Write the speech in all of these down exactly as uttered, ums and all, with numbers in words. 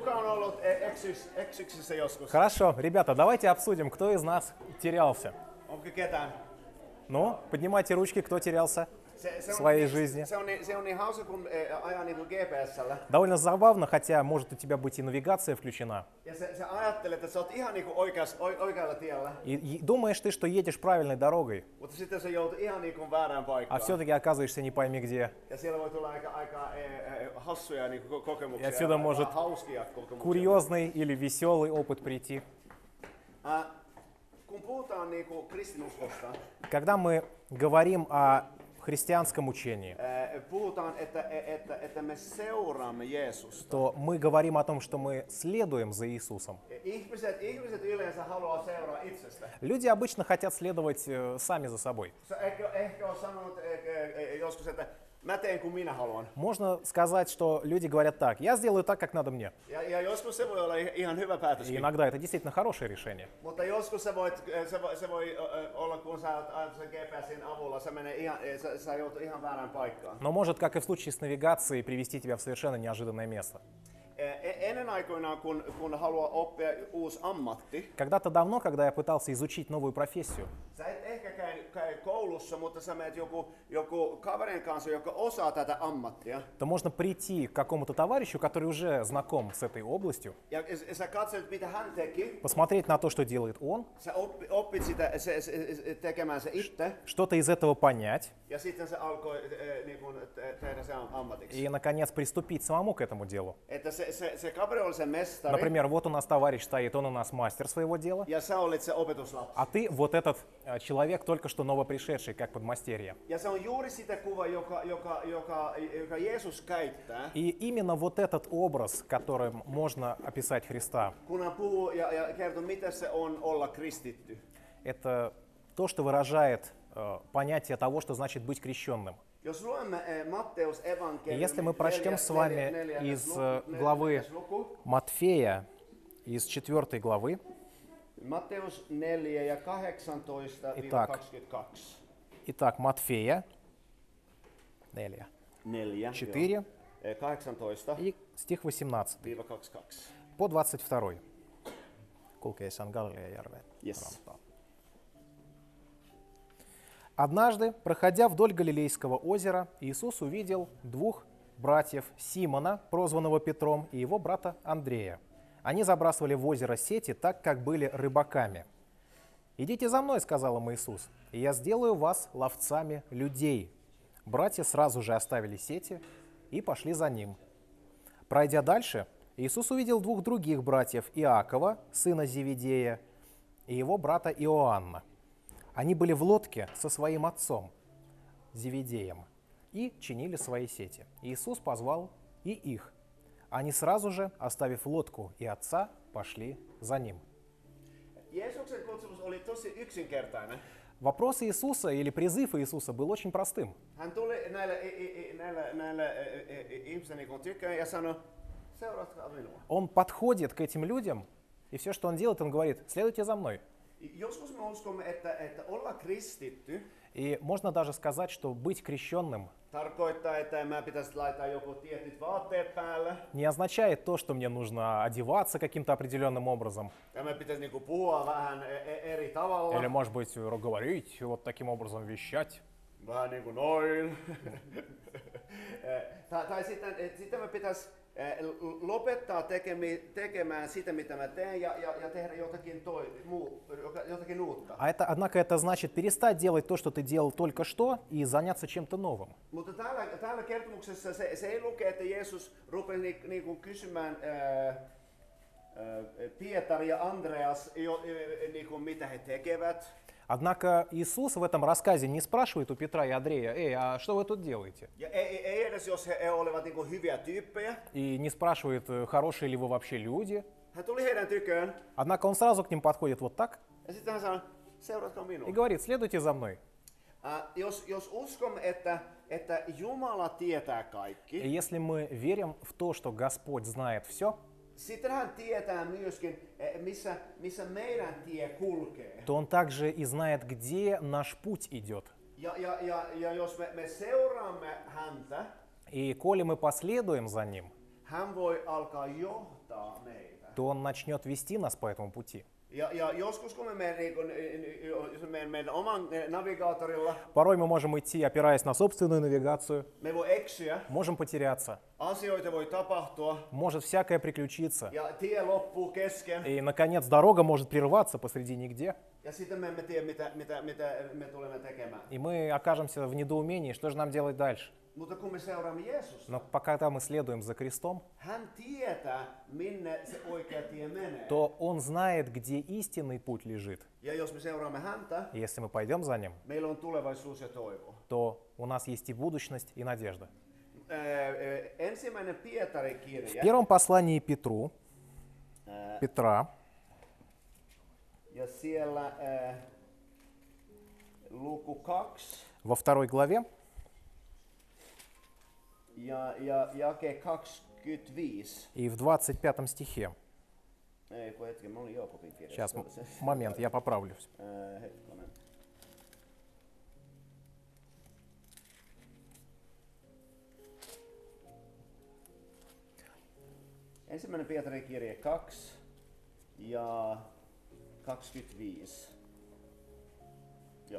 Хорошо, ребята, давайте обсудим, кто из нас терялся. Ну, поднимайте ручки, кто терялся в своей жизни. Довольно забавно, хотя может у тебя быть и навигация включена. И, и думаешь ты, что едешь правильной дорогой, а все-таки оказываешься не пойми где. И отсюда может курьезный или веселый опыт прийти. Когда мы говорим о христианском учении, то мы говорим о том, что мы следуем за Иисусом. Люди обычно хотят следовать э, сами за собой. Можно сказать, что люди говорят так: я сделаю так, как надо мне. И иногда это действительно хорошее решение. Но может, как и в случае с навигацией, привести тебя в совершенно неожиданное место. Когда-то давно, когда я пытался изучить новую профессию, то можно прийти к какому-то товарищу, который уже знаком с этой областью, посмотреть на то, что делает он, что-то из этого понять и, наконец, приступить самому к этому делу. Например, вот у нас товарищ стоит, он у нас мастер своего дела, а ты вот этот человек, только что новопришедший, как подмастерье. И именно вот этот образ, которым можно описать Христа, это то, что выражает э, понятие того, что значит быть крещенным. И если мы прочтем с вами из главы Матфея, из четвёртой главы, итак, итак Матфея, четыре, и стих восемнадцатый по двадцать второй. Yes. Однажды, проходя вдоль Галилейского озера, Иисус увидел двух братьев Симона, прозванного Петром, и его брата Андрея. Они забрасывали в озеро сети, так как были рыбаками. «Идите за мной», — сказал им Иисус, — «и я сделаю вас ловцами людей». Братья сразу же оставили сети и пошли за ним. Пройдя дальше, Иисус увидел двух других братьев: Иакова, сына Зеведея, и его брата Иоанна. Они были в лодке со своим отцом Зеведеем и чинили свои сети. Иисус позвал и их. Они сразу же, оставив лодку и отца, пошли за ним. Вопрос Иисуса или призыв Иисуса был очень простым. Он подходит к этим людям, и все, что он делает, он говорит: следуйте за мной. И можно даже сказать, что быть крещенным не означает то, что мне нужно одеваться каким-то определенным образом. Или, может быть, говорить вот таким образом, вещать. Lopettaa tekemään sitä, mitä mä teen, ja, ja, ja tehdä jotakin, toi, muu, jotakin uutta. А это, однако, это значит перестать делать то, что ты делал только что, и заняться чем-то новым. Mutta täällä, täällä kertomuksessa se, se ei luke, että Jeesus rupesi ni, niinku kysymään ää, ää, Pietari ja Andreas, jo, niinku, mitä he tekevät. Однако Иисус в этом рассказе не спрашивает у Петра и Андрея: «Эй, а что вы тут делаете?» И не спрашивает, хорошие ли вы вообще люди. Однако он сразу к ним подходит вот так и говорит: следуйте за мной. И если мы верим в то, что Господь знает все, то Он также и знает, где наш путь идет. И коли мы последуем за Ним, hän voi alkaa johtaa meitä. то Он начнет вести нас по этому пути. Ja, ja joskus kun me menemme niin jos me menemme meidän oman navigaattorilla, Порой мы можем идти, опираясь на собственную навигацию, me voi eksyä, можем потеряться, asioita voi tapahtua может всякое приключиться. ja tie loppuu kesken. И, наконец, дорога может прерваться посреди нигде, Ja sitten me emme tiedä, mitä, mitä, mitä me tulemme tekemään. и мы окажемся в недоумении, что же нам делать дальше. Mutta kun me seuraamme Jeesusta, Но пока мы следуем за крестом, hän tietää, minne se oikea tie menee. то Он знает, где истинный путь лежит. Ja jos me seuraamme häntä, И если мы пойдем за Ним, meillä on tulevaisuus ja toivo. то у нас есть и будущность, и надежда. Äh, ensimmäinen Pietarin В kirja, первом послании Петру, äh, Петра, ja siellä äh, luku kaksi, во второй главе, ja, ja jake kaksikymmentäviisi. и в двадцать пятом стихе. Ei, kun hetken, mä olin Jookopin kirjassa. Сейчас, м- момент, я поправлюсь. Äh, hetkonen. Ensimmäinen Pietarin kirje kaksi ja kaksikymmentäviisi. Joo.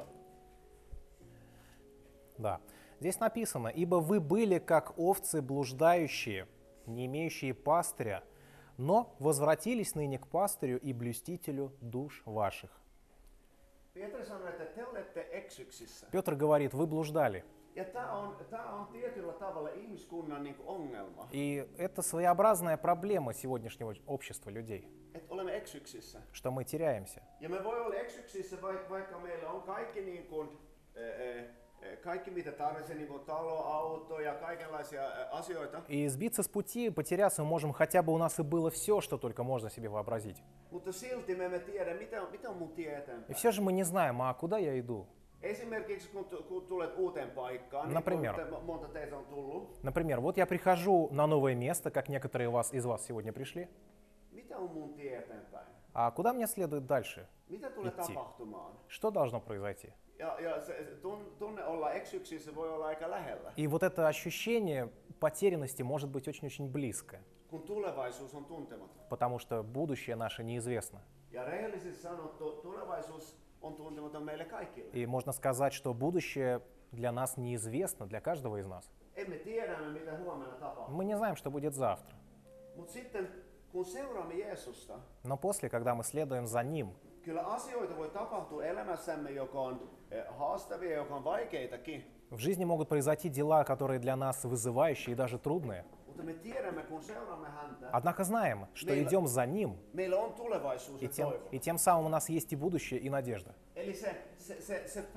Да. Здесь написано: «Ибо вы были, как овцы блуждающие, не имеющие пастыря, но возвратились ныне к пастырю и блюстителю душ ваших». Pietari sanoi, että te olette eksyksissä. Петр говорит: вы блуждали. Ja tämä on, tää on tietyllä tavalla ihmiskunnan niin kuin ongelma, И это своеобразная проблема сегодняшнего общества людей, että olemme eksyksissä. что мы теряемся. Ja me voi olla eksyksissä, vaikka, vaikka meillä on kaikki, niin kuin, ää, ää, kaikki mitä tarvitsee, niin kuin talo, auto ja kaikenlaisia ää, asioita. И сбиться с пути, потеряться мы можем, хотя бы у нас и было все, что только можно себе вообразить. Mutta silti me emme tiedä, mitä on, mitä on mun tie И eteenpäin. все же мы не знаем, а куда я иду? Esimerkiksi kun, tu- kun tulet uuteen paikkaan, niin Например. kuin te, monta teistä on tullut, Например, вот я прихожу на новое место, как некоторые вас, из вас сегодня пришли. mitä on mun tie eteenpäin? А куда мне следует дальше? Mitä tulee Itse. tapahtumaan? Что должно произойти? Ja, ja se, se tun- tunne olla eksyksissä voi olla aika lähellä, И вот это ощущение потерянности может быть очень-очень близко, kun tulevaisuus on tuntematon. потому что будущее наше неизвестно. Ja rehellisesti sanottu, tulevaisuus on tuntematon meille kaikille. И можно сказать, что будущее для нас неизвестно, для каждого из нас. Emme tiedä, mitä huomenna tapahtuu. Мы не знаем, что будет завтра. Mutta sitten, kun seuraamme Jeesusta, Но после, когда мы следуем за Ним, kyllä asioita voi tapahtua elämässämme, joka on eh, haastavia, joka on vaikeitakin. в жизни могут произойти дела, которые для нас вызывающие и даже трудные. Mutta me tiedämme, kun seuraamme häntä, Однако знаем, что Meillä- идем за Ним, meillä on tulevaisuus и ja тем, toivo. и тем самым у нас есть и будущее, и надежда. Eli se, se, se, se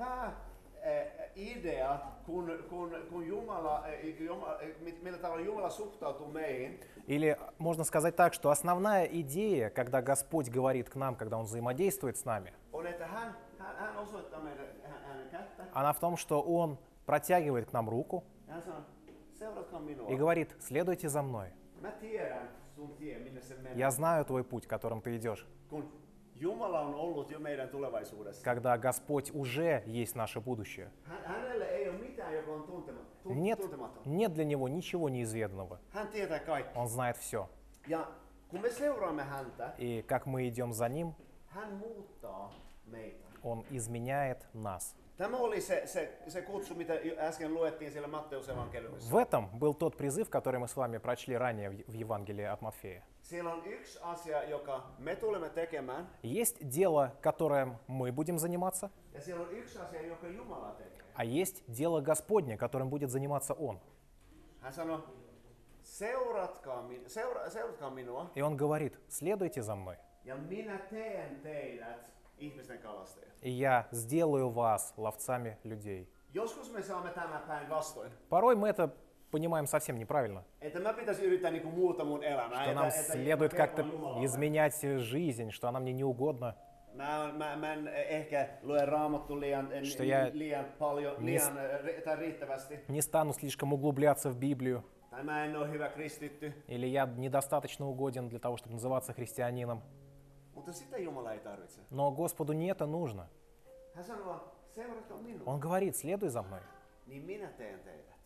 pääidea, kun, kun, kun Jumala, eh, Jumala, eh, millä tavalla Jumala suhtautuu meihin, Или можно сказать так, что основная идея, когда Господь говорит к нам, когда Он взаимодействует с нами, on, että hän, hän, hän osoittaa meidän hän- hänen kättä. она в том, что Он протягивает к нам руку Ja hän sanoo, seuratkaa minua. и говорит: следуйте за мной. Mä tiedän sun tie, minne se menee. Я знаю твой путь, которым ты идешь. Kun Jumala on ollut jo meidän tulevaisuudessa. Когда Господь уже есть наше будущее. Hän, hänelle ei ole mitään, joka on tuntematon. Нет, tuntematon. нет для Него ничего неизведанного. Hän tietää kaikki. Он знает все. Ja kun me seuraamme häntä, И как мы идем за Ним, hän muuttaa meitä. Он изменяет нас. Tämä oli se, se, se kutsu, mitä jo äsken luettiin siellä Matteus evankeliumissa. В этом был тот призыв, который мы с вами прочли ранее в в Евангелии от Матфея. Siellä on yksi asia, joka me tulemme tekemään, Есть дело, которым мы будем заниматься, ja siellä on yksi asia, joka Jumala tekee. а есть дело Господне, которым будет заниматься Он. Hän sanoi, seuratkaa, min- seura, seuratkaa minua, И Он говорит: следуйте за мной, ja minä teen teidät ihmisten kalastajat. и я сделаю вас ловцами людей. Joskus me saamme tämän päin vastoin. Порой мы это понимаем совсем неправильно, Että mä pitäisi yrittää niinku muuta mun elämää. что Että, нам että следует mä как-то kelpaan Jumalalle. изменять жизнь, что она мне не угодна, Mä, mä, mä en ehkä lue raamattu liian, en- Что я liian paljon, не liian, ri- tai riittävästi. не стану слишком углубляться в Библию, Tai mä en ole hyvä kristitty. или я недостаточно угоден для того, чтобы называться христианином. Mutta sitä Jumala ei tarvitse. Но Господу не это нужно. Hän sanoo, seuratkaa minua, Он говорит: следуй за мной, niin minä teen teidät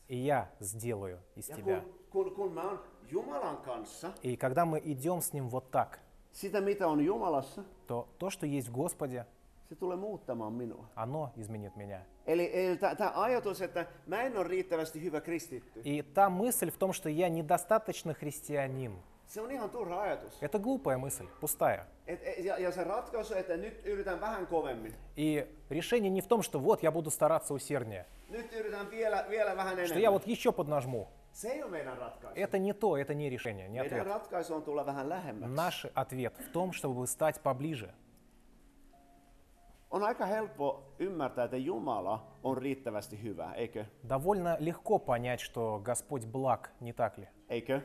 и я сделаю из Ja тебя. kun, kun, kun mä oon Jumalan kanssa, И когда мы идем с Ним вот так, sitä mitä on Jumalassa, то то, что есть в Господе, se tulee muuttamaan minua. оно изменит меня. Eli, eli tämä ajatus, että mä en ole riittävästi hyvä kristitty, И та мысль в том, что я недостаточно христианин, se on ihan turha ajatus. это глупая мысль, пустая. Et, et, ja, ja se ratkaisu, että nyt yritän vähän kovemmin. И решение не в том, что вот я буду стараться усерднее, Nyt yritän vielä, vielä vähän что я enemmän. вот еще поднажму. Se ei ole meidän ratkaisu. Это не то, это не решение, не Meidän ответ. ratkaisu on tulla vähän lähemmäksi. Наш ответ в том, чтобы стать поближе. On aika helppo ymmärtää, että Jumala on riittävästi hyvä, eikö? Довольно легко понять, что Господь благ, не так ли? Eikö?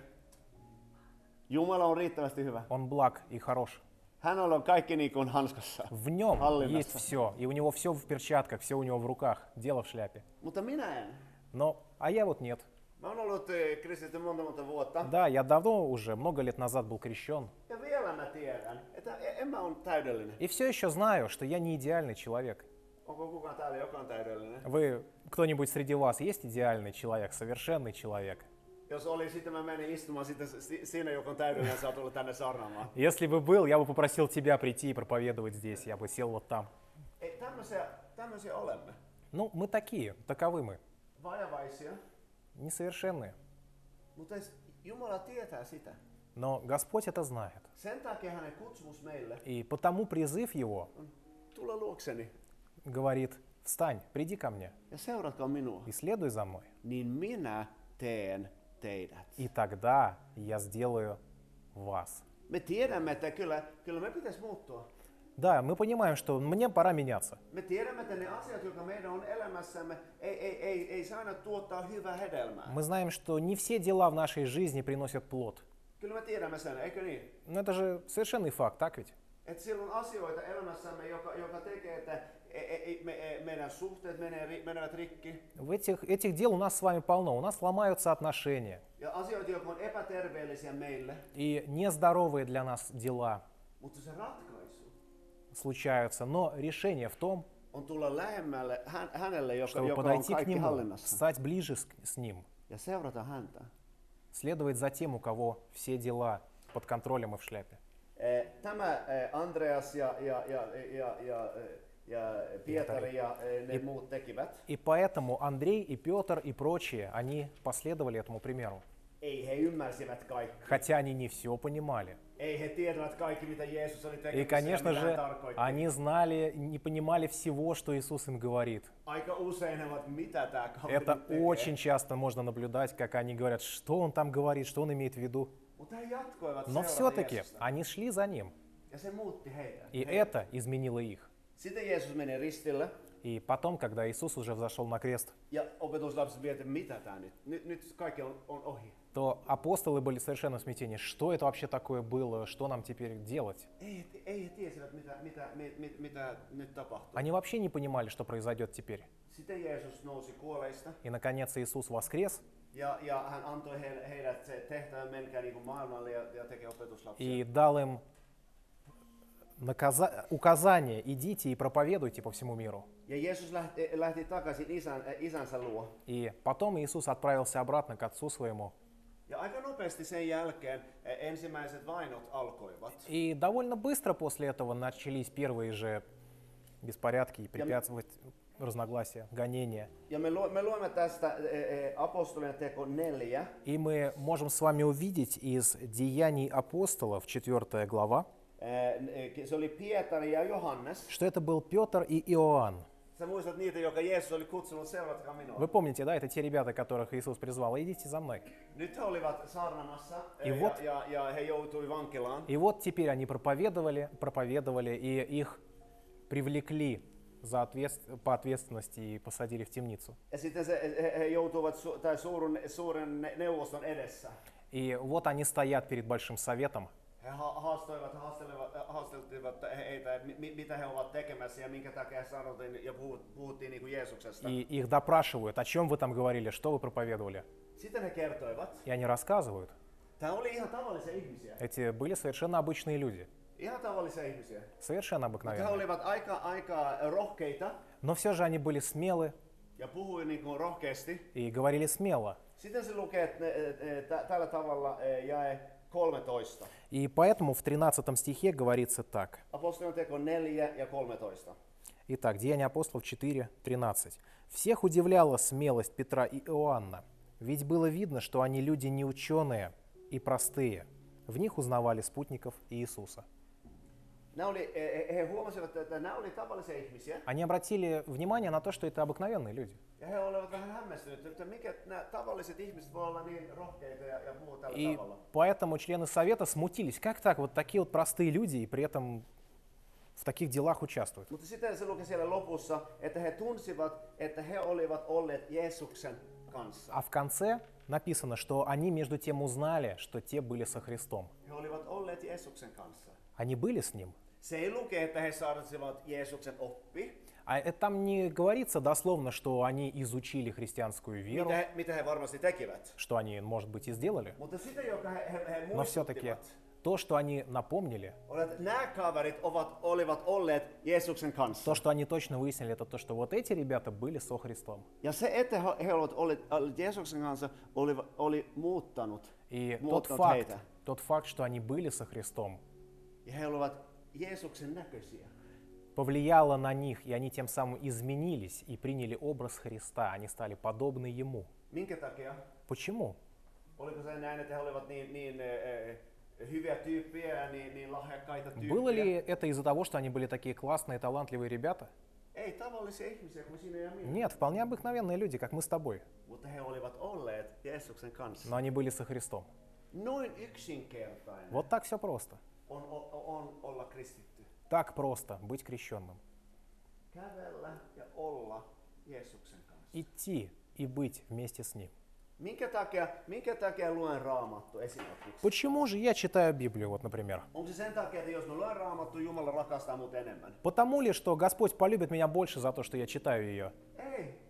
Jumala on riittävästi hyvä. Он благ и хорош. Hänellä on kaikki niin kuin hanskassa. В нем Hallinnassa. есть все, и у него все в перчатках, все у него в руках, дело в шляпе. Mutta minä en. Но, а я вот нет. Mä oon ollut eh, kristitty monta monta vuotta. Да, я давно уже, много лет назад был крещен. Ja vielä mä tiedän, että en mä ole täydellinen. И все еще знаю, что я не идеальный человек. Onko kukaan täällä, joka on täydellinen? Вы, кто-нибудь среди вас, есть идеальный человек, совершенный человек? Jos oli, sitten mä menin istumaan, sitten si- siinä, joka on täydellinen, saa tulla tänne saarnaamaan. Если бы был, я бы попросил тебя прийти и проповедовать здесь, я бы сел вот там. Ei, tämmöisiä, tämmöisiä olemme. Ну, мы такие, таковы мы, Vajavaisia, несовершенные. mutta Jumala tietää sitä. Но Господь это знает. Sen takia hänen kutsumus meille И потому призыв Его on tulla luokseni говорит, встань, приди ко мне ja seuratkaa minua. и следуй за мной. Niin minä teen teidät. И тогда я сделаю вас. Me tiedämme, että kyllä, kyllä me pitäisi muuttua. Да, мы понимаем, что мне пора меняться. Me tiedämme, että ne asiat, jotka meidän on elämässämme, ei, ei, ei, ei saa aina tuottaa hyvää hedelmää. Мы знаем, что не все дела в нашей жизни приносят плод. Kyllä me tiedämme sen, eikö niin? Но это же совершенный факт, так ведь? Että siellä on asioita elämässämme, joka, joka tekee, että ei, ei, me, ei, meidän suhteet menee, menevät rikki. В этих, этих дел у нас с вами полно. У нас ломаются отношения. Ja asioita, jotka on epäterveellisiä meille. И нездоровые для нас дела Mutta se ratkaisu случаются. Но решение в том, on tulla lähemmälle hän, hänelle, joka, чтобы joka on подойти к kaikki Нему, hallinnassa. стать ближе с, с Ним, Ja seurata häntä. следовать за тем, у кого все дела под контролем и в шляпе. Eh, Tämä eh, Andreas ja, ja, ja, ja, ja, eh, ja Pietari ja eh, ne И- muut tekivät. И поэтому Андрей и Петр и прочие, они последовали этому примеру. Ei he ymmärsivät kaikki. Хотя они не все понимали. Ei he tiedävät kaikki, mitä Jeesus oli И, tekemässä конечно ja mitä hän же, tarkoitti. они знали, не понимали всего, что Иисус им говорит. Aika usein he ovat, mitä tämä kaveri Это nyt tekee. очень часто можно наблюдать, как они говорят, что он там говорит, что он имеет в виду. Mutta he jatkoivat Но seurata все-таки Jeesusta. они шли за ним, Ja se muutti heitä. и Heitä. это изменило их. Sitten Jeesus meni ristille И потом, когда Иисус уже взошел на крест, ja opetuslapset miettivät, mitä tämä nyt? Nyt, nyt kaikki on, on ohi. то апостолы были совершенно в смятении. Что это вообще такое было? Что нам теперь делать? Ei, ei he tiesivät, mitä, mitä, mit, mitä nyt tapahtuu. Они вообще не понимали, что произойдет теперь. Sitten Jeesus nousi kuolleista И, наконец, Иисус воскрес ja, ja hän antoi heille, heidät se tehtävän, menkää niin kuin maailmalle ja, ja tekee opetuslapsia. и дал им наказа- указание, идите и проповедуйте по всему миру. Ja Jeesus lähti, lähti takaisin isän, äh, isänsä luo. И потом Иисус отправился обратно к Отцу Своему. Ja aika nopeasti sen jälkeen äh, ensimmäiset vainot alkoivat. И довольно быстро после этого начались первые же беспорядки и препятствовать разногласия, гонения. Ja me, lu, me luemme tästä äh, äh, apostolien teko neljä. И мы можем с вами увидеть из Деяний апостолов, четвёртая глава, Äh, se oli Pietari ja Johannes. что это был Петр и Иоанн. Sä muistat niitä, joka Jeesus oli kutsunut, seuratkaa minua. Вы помните, да, это те ребята, которых Иисус призвал, идите за мной. Nyt he olivat saarnamassa äh, И ja, вот- ja, ja he joutui vankilaan. И вот теперь они проповедовали, проповедовали, и их привлекли за ответс- по ответственности и посадили в темницу. Ja sitten se, he, he joutuivat su, tai suuren, suuren ne- neuvoston edessä. И вот они стоят перед Большим Советом, He ha- haastoivat, haastelivat, haasteltivat heitä, mi, mitä he ovat tekemässä ja minkä takia sanottiin ja puhut, puhuttiin niin kuin Jeesuksesta. и их допрашивают, о чем вы там говорили, что вы проповедовали. Sitten he kertoivat. И они рассказывают. Tämä oli ihan tavallisia ihmisiä. Эти были совершенно обычные люди, Ihan tavallisia ihmisiä. совершенно Mutta he обыкновенные. olivat aika, aika rohkeita Но все же они были смелы, ja puhui niin kuin rohkeasti. и говорили смело. Sitten se lukee että, e, e, tä- tällä tavalla e, jae kolmetoista. И поэтому в тринадцатом стихе говорится так. Apostolien teko neljä ja kolmetoista. Итак, Деяния апостолов четыре тринадцать. «Всех удивляла смелость Петра и Иоанна, ведь было видно, что они люди неученые и простые. В них узнавали спутников Иисуса». Nämä oli, e, he huomasivat, että nämä oli tavallisia ihmisiä. Они обратили внимание на то, что это обыкновенные люди. Ja he olivat vähän hämmästyneet, että mikä nämä tavalliset ihmiset voi olla niin rohkeita ja, ja puhua tällä И tavalla. поэтому члены совета смутились. Как так, вот такие вот простые люди и при этом в таких делах участвуют? Mutta sitten se luki siellä lopussa, että he tunsivat, että he olivat olleet Jeesuksen kanssa. А в конце написано, что они между тем узнали, что те были со Христом. He olivat olleet Jeesuksen kanssa. Они были с Ним. Se ei luke, että he saarnasivat Jeesuksen oppi, А это там не говорится дословно, что они изучили христианскую веру, mitä he, mitä he varmasti tekivät. что они, может быть, и сделали. Mutta sitä, joka he, he, he Но все-таки muistuttivat, то, что они напомнили, oli, että nämä kaverit ovat, olivat olleet Jeesuksen kanssa. то, что они точно выяснили, это то, что вот эти ребята были со Христом. Ja se, että he he olivat olleet olleet Jeesuksen kanssa, oli, oli muuttanut, И тот muuttanut факт, heitä. тот факт, что они были со Христом, Ja he olivat Jeesuksen näköisiä. повлияло на них, и они тем самым изменились и приняли образ Христа. Они стали подобны Ему. Minkä takia? Почему? Oliko se näin, että he olivat niin, niin äh, hyviä tyyppejä ja niin, niin lahjakkaita tyyppejä? Было ли это из-за того, что они были такие классные, талантливые ребята? Ei tavallisia ihmisiä kuin sinä ja minä. Нет, вполне обыкновенные люди, как мы с тобой. Mutta he olivat olleet Jeesuksen kanssa. Но они были со Христом. Noin yksinkertainen Вот так все просто. on, on, on olla kristitty. Так просто быть крещенным. Kävellä ja olla Jeesuksen kanssa. Идти и быть вместе с Ним. Minkä takia, minkä takia luen Raamattu esimerkiksi? Почему же я читаю Библию, вот, например? Onko se sen takia, että jos mä luen Raamattu, Jumala rakastaa mut enemmän? Потому ли, что Господь полюбит меня больше за то, что я читаю ее? Ei.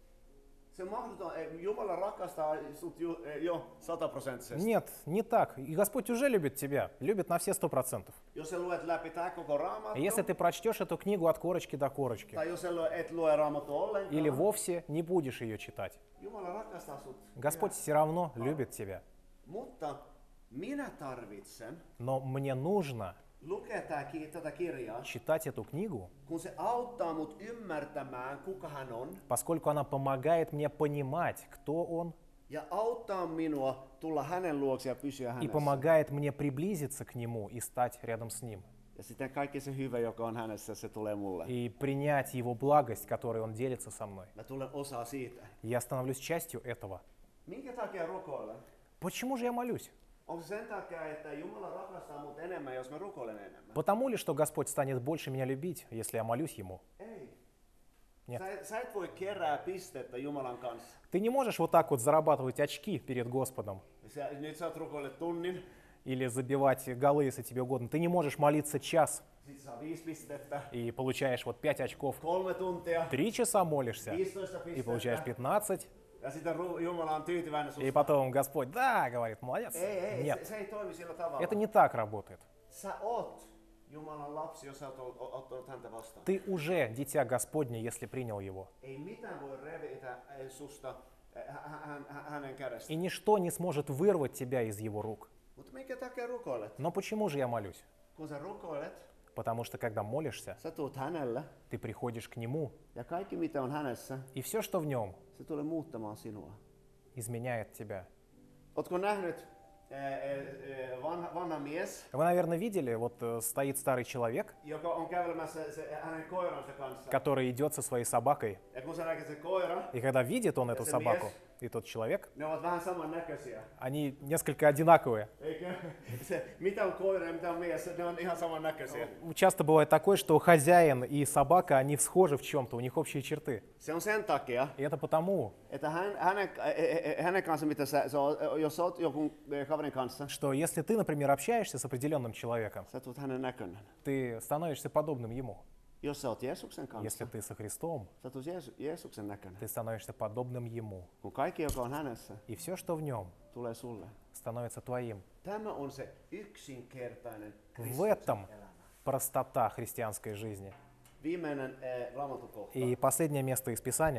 Se on mahdoton. Ei, Jumala rakastaa sut ju, eh, jo sataprosenttisesti. Нет, не так. И Господь уже любит тебя, любит на все сто процентов. Jos sä luet läpi tää koko И Raamattu, если ты прочтешь эту книгу от корочки до корочки, tai jos sä lue- et lue Raamattu ollenkaan, или вовсе не будешь ее читать, Jumala rakastaa sut. Господь все равно любит тебя. Mutta minä tarvitsen Но мне нужно lukea tää, ki- tätä kirjaa, читать эту книгу, kun se auttaa mut ymmärtämään, kuka hän on, поскольку она помогает мне понимать, кто Он, ja auttaa minua tulla hänen luokse ja pysyä и hänessä. помогает мне приблизиться к Нему и стать рядом с Ним, Ja sitten kaikki se hyvä, joka on hänessä, se tulee mulle. и принять Его благость, которой Он делится со мной. Mä tulen osaa siitä. И я становлюсь частью этого. Minkä takia rukoilen? Почему же я молюсь? Onko se sen takia, että Jumala rakastaa mut enemmän, jos mä rukoilen enemmän? Потому ли, что Господь станет больше меня любить, если я молюсь Ему? Ei. Нет. Sä, sä et voi kerää pistettä Jumalan kanssa. Ты не можешь вот так вот зарабатывать очки перед Господом Sä, nyt sä oot rukoillut tunnin, или забивать голы, если тебе угодно. Ты не можешь молиться час sit saa viisi pistettä, и получаешь вот пять очков. kolme tuntia, Три часа молишься viisitoista и получаешь pistettä, пятнадцать. ja sitten ru- Jumala on tyytyväinen И susta. потом Господь, да, говорит, молодец. Ei, ei, se, Нет, se ei toimi sillä tavalla. это не так работает. Sä oot Jumalan lapsi, jos sä oot ot- ot- ottanut häntä vastaan. Ты уже дитя Господне, если принял Его. Ei mitään voi revitä eh, susta eh, hä- hä- hä- hänen kädestä. И ничто не сможет вырвать тебя из Его рук. Mutta minkä takia rukoilet? Но почему же я молюсь? Kun sä rukoilet, Потому что когда молишься, sä tuut hänelle ты приходишь к Нему, ja kaikki mitä on hänessä, и все, что в Нем, se tulee muuttamaan sinua. изменяет тебя. Ootko nähnyt eh, eh, vanha, vanha mies, Вы, наверное, видели, вот э, стоит старый человек, joka on kävelemässä se, hänen koiransa kanssa. который идет со своей собакой, Ja kun sä näkee se koira, и когда видит он эту se собаку, mies, и тот человек, ne ovat vähän samannäköisiä. они несколько одинаковые. Eikö? Se, mitä on koira ja mitä on mies, ne on ihan samannäköisiä. Часто бывает такое, что хозяин и собака, они схожи в чем-то, у них общие черты. Se on sen takia, И это потому, että hän, hänen, eh, eh, hänen kanssa, mitä sä, sä oot, jos sä oot jonkun eh, kaverin kanssa, что если ты, например, общаешься с определенным человеком, sä tulet hänen näköinen. ты становишься подобным ему. Jos sä oot Jeesuksen kanssa, Если ты со Христом, sä tulet Jeesu, Jeesuksen näköinen. ты становишься подобным ему. Kun kaikki, joka on hänessä, И все, что в нем, tulee sulle. становится твоим. Tämä on se yksinkertainen В Kristuksen этом elämä. простота христианской жизни. Viimeinen eh, raamatukohta. И последнее место из Писания.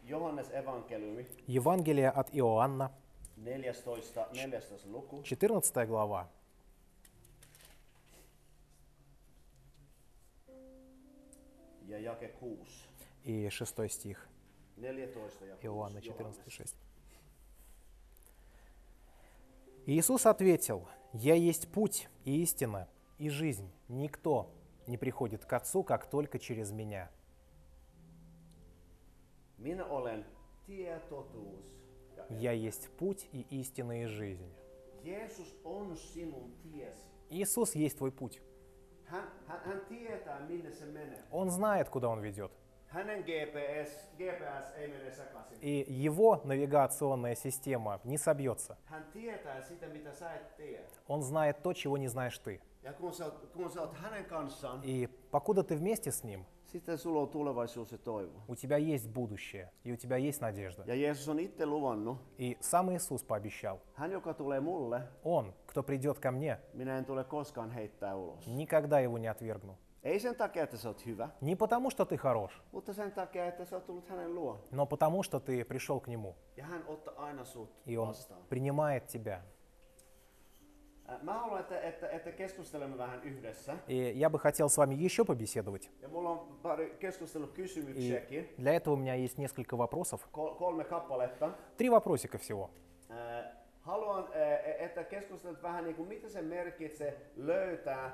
Johannes evankeliumi, Евангелие от Иоанна, neljästoista, neljästoista luku. четырнадцатая глава, Ja jake kuusi. и шестой стих. neljätoista ja Иоанна kuusi. четырнадцать, шесть. Иисус ответил: «Я есть путь и истина и жизнь. Никто не приходит к Отцу, как только через Меня». Minä olen tie, totuus ja elämä. «Я есть путь и истина и жизнь». Jeesus on sinun tiesi. Иисус есть твой путь. Hän, hän, hän tietää, minne se menee. Он знает, куда Он ведет. Hänen G P S, G P S ei mene sekaisin. И Его навигационная система не собьется. Hän tietää sitä, mitä sä et tiedä. Он знает то, чего не знаешь ты. Ja kun sä, oot- kun sä oot hänen kanssaan, И покуда ты вместе с Ним, sitten sulla on tulevaisuus ja toivo. у тебя есть будущее, и у тебя есть надежда. Ja Jeesus on itse luvannut, И сам Иисус пообещал: hän joka tulee mulle, Он, кто придет ко мне, minä en tule koskaan heittää ulos. никогда его не отвергну. Ei sen takia, että sä oot hyvä, Не потому, что ты хорош, mutta sen takia, että sä oot tullut hänen luo. но потому, что ты пришел к Нему, Ja hän ottaa aina sut и Он vastaan. принимает тебя. Äh, Mä haluan, että, että, että keskustelemme vähän yhdessä. И я бы хотел с вами еще побеседовать. Ja mulla on pari keskustelukysymyksiäkin, И для этого у меня есть несколько вопросов. Kol- kolme kappaletta. Три вопросика всего. Äh, Haluan, äh, että keskustelut vähän niin kuin mitä se merkitsee löytää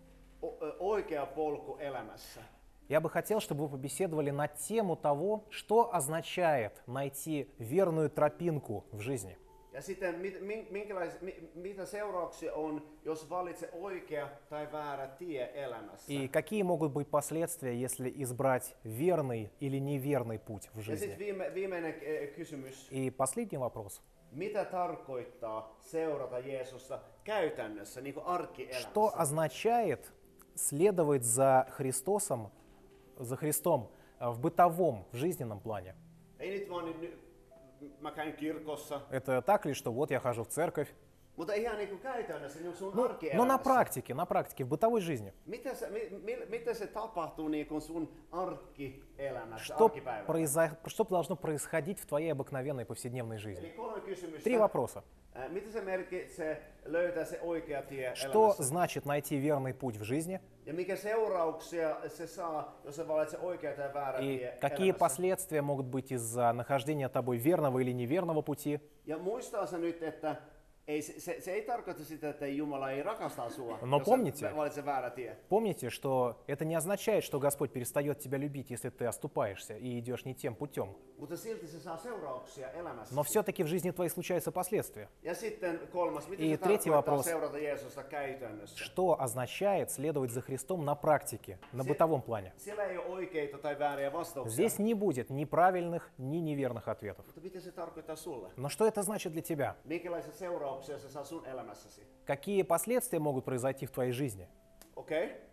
o- ö, oikea polku elämässä. Я бы хотел, чтобы вы побеседовали на тему того, что означает найти верную тропинку в жизни. Ja sitten mit, min- minkälais, mi, mitä seurauksia on, jos valitse oikea tai väärä tie elämässä. И какие могут быть последствия, если избрать верный или неверный путь в Ja жизни. sitten viime, viimeinen äh, kysymys. И последний вопрос. Mitä tarkoittaa seurata Jeesusta käytännössä, niin kuin Что arkielämässä? означает следовать за Христосом, за Христом э, в бытовом, в жизненном плане? Ei nyt vaan nyt, nyt mä käyn kirkossa, Это так ли, что вот я хожу в церковь? mutta ihan niin kuin käytännössä, niin kuin sun Ну, но на arkielämässä. практике, на практике, в бытовой жизни. Mitä se, mi, mi, miten se tapahtuu niin kuin sun arkielämässä, Что, arkipäivässä? произо- что должно происходить в твоей обыкновенной повседневной жизни? Eli kolme kysymystä. Три вопроса. Ää, Mitä se merkitsee löytää se oikea tie Что elämässä? значит найти верный путь в жизни? Ja mikä seurauksia se saa, jos se valitsee oikea tai väärä И tie какие elämässä? последствия могут быть из-за нахождения тобой верного или неверного пути? Ja muistaa se nyt, että ei, se, se, se ei tarkoita sitä, että Jumala ei rakasta sua, No jos pomните. sä valitset väärä tie. Помните, что это не означает, что Господь перестает тебя любить, если ты оступаешься и идешь не тем путем. Mutta silti se saa seurauksia elämässä. Но все-таки в жизни твоей случаются последствия. Ja sitten kolmas, mitä И se третий tarkoittaa вопрос. seurata Jeesusta käytännössä? Что означает следовать за Христом на практике, на Се- бытовом плане? Siellä ei ole oikeita tai vääriä vastauksia. Здесь не будет ни правильных, ни неверных ответов. Mutta mitä se tarkoittaa sulle? Но что это значит для тебя? Minkälaisia seurauksia se saa sun elämässäsi? Какие последствия могут произойти в твоей жизни? Okei. Okay.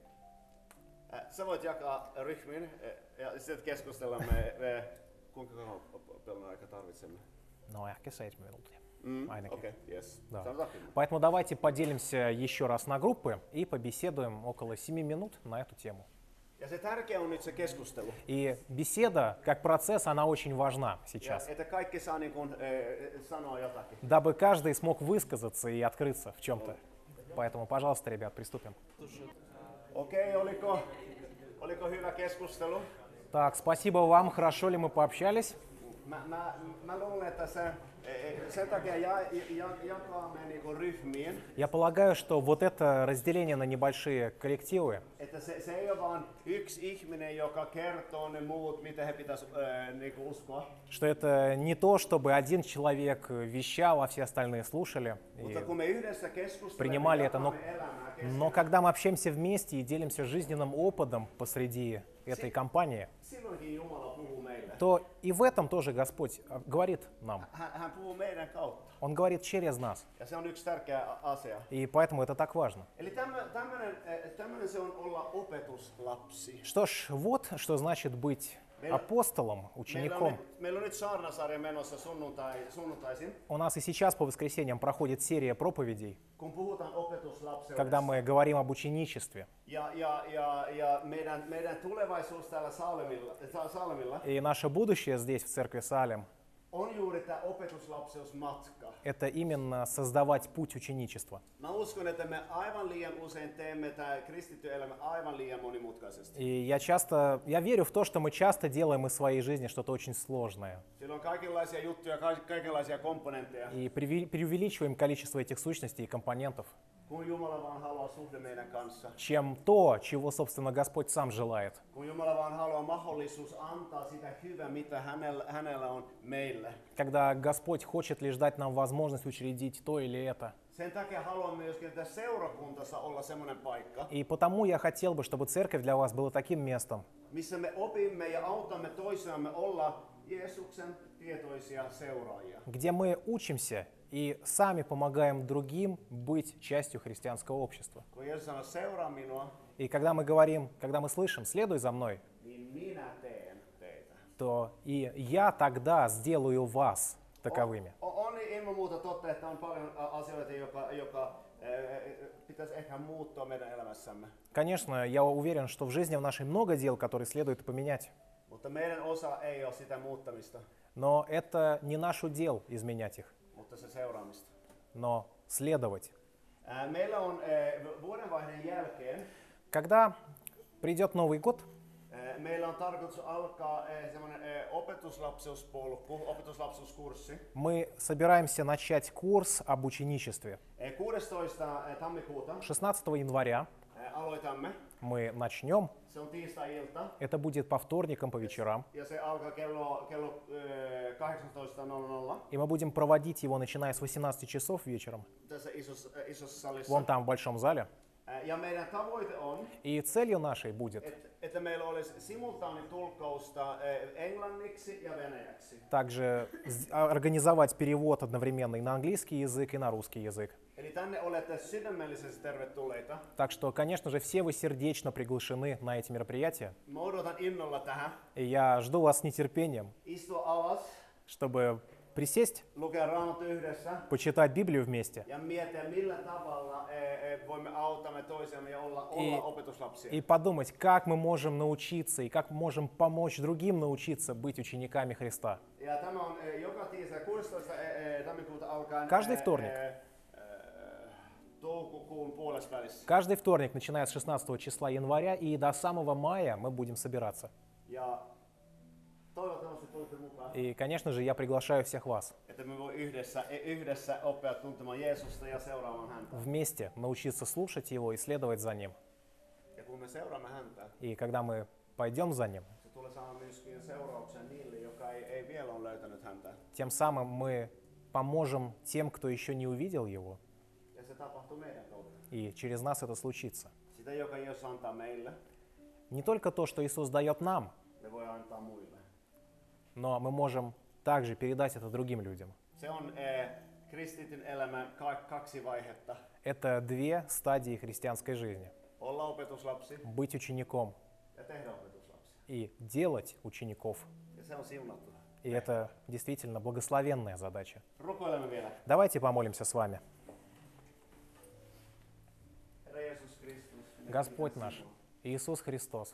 Sä voit jakaa ryhmiin eh, ja sitten keskustellaan me, me kuinka kauan pelon aika tarvitsemme. Ну, ehkä seitsemän minuuttia. Mm, Ainakin. Okei, okay, yes. Да. Sanotaan kymmenen. Поэтому давайте поделимся еще раз на группы и побеседуем около семи минут на эту тему. Ja se tärkeä on nyt se keskustelu. И беседа, как процесс, она очень важна Ja, сейчас, että kaikki saa niin kuin, eh, sanoa jotakin. дабы каждый смог высказаться и открыться в чем-то. Поэтому, пожалуйста, ребят, приступим. Okei, okay, oliko, oliko hyvä keskustelu? Так, спасибо вам, хорошо ли мы пообщались? Mä, mä, mä luulen, että se, eh, sen takia ja, ja, jakaamme niin kuin ryhmiin, Я полагаю, что вот это разделение на небольшие коллективы, että se, se ei ole vaan yksi ihminen, joka kertoo ne muut, mitä he pitäisi äh, niin kuin uskoa. что это не то, чтобы один человек вещал, а все остальные слушали. Mutta И kun me yhdessä keskustelemme, принимали это, но, jakamme elämää keskenään, но когда мы общаемся вместе и делимся жизненным опытом посреди этой компании, silloinkin Jumala puhuu meille. то и в этом тоже Господь а, говорит нам. Hän, hän puhuu meidän kautta. Он говорит через нас. Ja se on yksi tärkeä a- asia. И поэтому это так важно. Eli tämmöinen se on olla opetuslapsi. Что ж, вот что значит быть апостолом, Meillä on, учеником. nyt, meillä on nyt saarnasarja menossa sunnuntai, sunnuntaisin, У нас и сейчас по воскресеньям проходит серия проповедей, kun puhutaan opetuslapseudesta. когда мы говорим об ученичестве. Ja, ja, ja, ja meidän, meidän tulevaisuus täällä Saalemilla, Sa- Saalemilla И наше будущее здесь, в церкви Салем, on juuri tämä opetuslapseusmatka. это именно создавать путь ученичества. Mä uskon, että me aivan liian usein teemme tämä kristitty elämä aivan liian monimutkaisesti. И я часто, я верю в то, что мы часто делаем из своей жизни что-то очень сложное. Siellä on kaikenlaisia juttuja, ka- kaikenlaisia komponentteja, И преви- преувеличиваем количество этих сущностей и компонентов, kun Jumala vaan haluaa suhde meidän kanssa. чем то, чего, собственно, Господь сам желает. Kun Jumala vaan haluaa mahdollisuus antaa sitä hyvää, mitä hänellä, hänellä on meille. Когда Господь хочет лишь дать нам возможность учредить то или это. Sen takia haluan myöskin, että seurakuntassa olla semmoinen paikka, И потому я хотел бы, чтобы церковь для вас была таким местом, missä me opimme ja autamme toisiamme olla Jeesuksen tietoisia seuraajia. где мы учимся и сами помогаем другим быть частью христианского общества. Kun Jeesus sanoo, seuraa minua, И когда мы говорим, когда мы слышим «следуй за мной», niin minä teen teitä. то и я тогда сделаю вас таковыми. On, on ilman muuta totta, että on paljon ä, asioita, joka, joka ä, pitäisi ehkä muuttua meidän elämässämme. Конечно, я уверен, что в жизни в нашей много дел, которые следует поменять. Mutta meidän osa ei ole sitä muuttamista, Но это не наш удел изменять их, mutta se seuraamista. но следовать. Ä, Meillä on ä, vuodenvaihteen jälkeen, Когда придет Новый год, ä, meillä on tarkoitus alkaa ä, semmoinen ä, opetuslapseuspolku, opetuslapseuskurssi. мы собираемся начать курс об ученичестве. Ä, kuudestoista tammikuuta шестнадцатого января ä, aloitamme. мы начнем. Se on tiistai-ilta Это будет по вторникам, по вечерам. ja se alkaa kello, kello ä, kahdeksantoista nolla nolla И мы будем проводить его, начиная с восемнадцати часов вечером, tässä isossa, ä, isossa salissa. вон там, в большом зале. Ä, Ja meidän tavoite on, И целью нашей будет että, että meillä olisi simultaanitulkkausta ä, englanniksi ja venäjäksi. также с- организовать перевод одновременно и на английский язык, и на русский язык. Eli tänne olette sydämellisesti tervetulleita. Так что, конечно же, все вы сердечно приглашены на эти мероприятия. Mä odotan innolla tähän. И я жду вас с нетерпением, Istua alas, чтобы присесть, lukea Raamattu yhdessä почитать Библию вместе ja miettiä millä tavalla ä, ä, voimme autamme toisiamme ja olla, olla opetuslapsia. и подумать, как мы можем научиться и как мы можем помочь другим научиться быть учениками Христа. Ja tämä on ä, joka tiistai kuudestoista ä, ä, tammikuuta alkaen Каждый ä, вторник. ä, ä, toukokuun puolesvälissä. Каждый вторник, начиная с шестнадцатого числа января и до самого мая мы будем собираться. Ja toivottavasti tulette mukaan, И, конечно же, я приглашаю всех вас että me voi yhdessä, ä, yhdessä oppia tuntemaan Jeesusta ja seuraamaan häntä. вместе научиться слушать Его и следовать за Ним. Ja kun me seuraamme häntä, И когда мы пойдем за Ним, se tulee saamaan myöskin seurauksen niille, joka ei, ei vielä ole löytänyt häntä. тем самым мы поможем тем, кто еще не увидел Его, Ja se tapahtuu meidän kautta. и через нас это случится. Sitä, joka Jeesus antaa meille, Не только то, что Иисус дает нам, me voi antaa muille. но мы можем также передать это другим людям. Se on eh, kristityn elämän ka- kaksi vaihetta. Это две стадии христианской жизни. Olla opetuslapsi Быть учеником ja tehdä opetuslapsi. и делать учеников. Ja se on siunattu. И это действительно благословенная задача. Rukoilemme vielä. Давайте помолимся с вами. Herra Jeesus Kristus, me Господь kiitämme наш, sinua. Иисус Христос,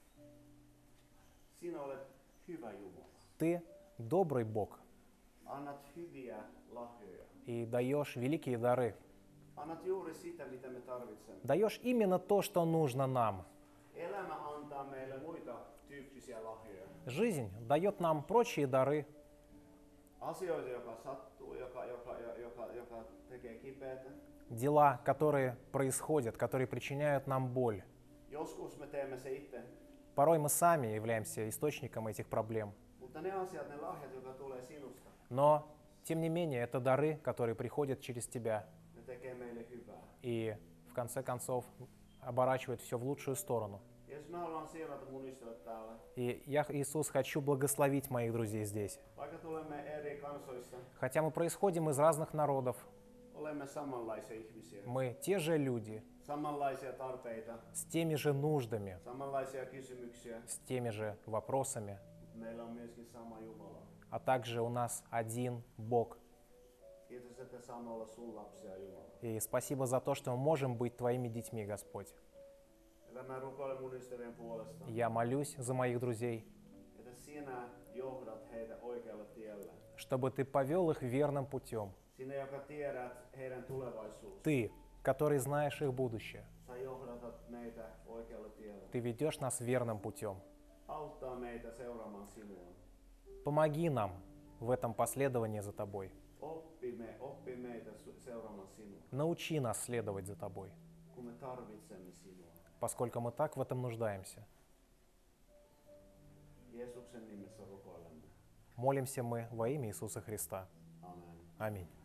Sinä olet hyvä Jumala. Ты добрый Бог Annat hyviä lahjoja. и даешь великие дары. Annat juuri sitä, mitä me tarvitsemme. Даешь именно то, что нужно нам. Elämä antaa meille muita tyyppisiä lahjoja. Жизнь дает нам прочие дары, Asioita, joka sattuu, joka, joka, joka, joka tekee kipeätä. дела, которые происходят, которые причиняют нам боль. Joskus me teemme se itse, Порой мы сами являемся источником этих проблем. mutta ne asiat, ne lahjat, jotka tulee sinusta, Но, тем не менее, это дары, которые приходят через тебя ne tekee meille hyvää. и, в конце концов, оборачивают все в лучшую сторону. Jeesus, mä haluan siunata mun ystävät täällä. И я, Иисус, хочу благословить моих друзей здесь. Vaikka tulemme eri kansoista, Хотя мы происходим из разных народов, olemme samanlaisia ihmisiä. мы те же люди, Samanlaisia tarpeita, с теми же нуждами, samanlaisia kysymyksiä. с теми же вопросами. meillä on myöskin sama Jumala. а также у нас один Бог. Kiitos, että saamme olla sun lapsia, Jumala. И спасибо за то, что мы можем быть Твоими детьми, Господь. Ja mä rukoilen mun ystävien puolesta, Я молюсь за моих друзей, että sinä johdat heitä oikealle tielle. чтобы Ты повел их верным путем. Sinä, joka tiedät heidän tulevaisuus. Ты, который знаешь их будущее, Sä johdatat meitä oikealle tielle. Ты ведешь нас верным путем. Auttaa meitä seuraamaan sinua. Помоги нам в этом последовании за Тобой. Oppi, me, oppi meitä su- seuraamaan sinua, Научи нас следовать за Тобой, kun me tarvitsemme sinua. поскольку мы так в этом нуждаемся. Jeesuksen nimessä rukoilemme. Молимся мы во имя Иисуса Христа. Amen. Аминь.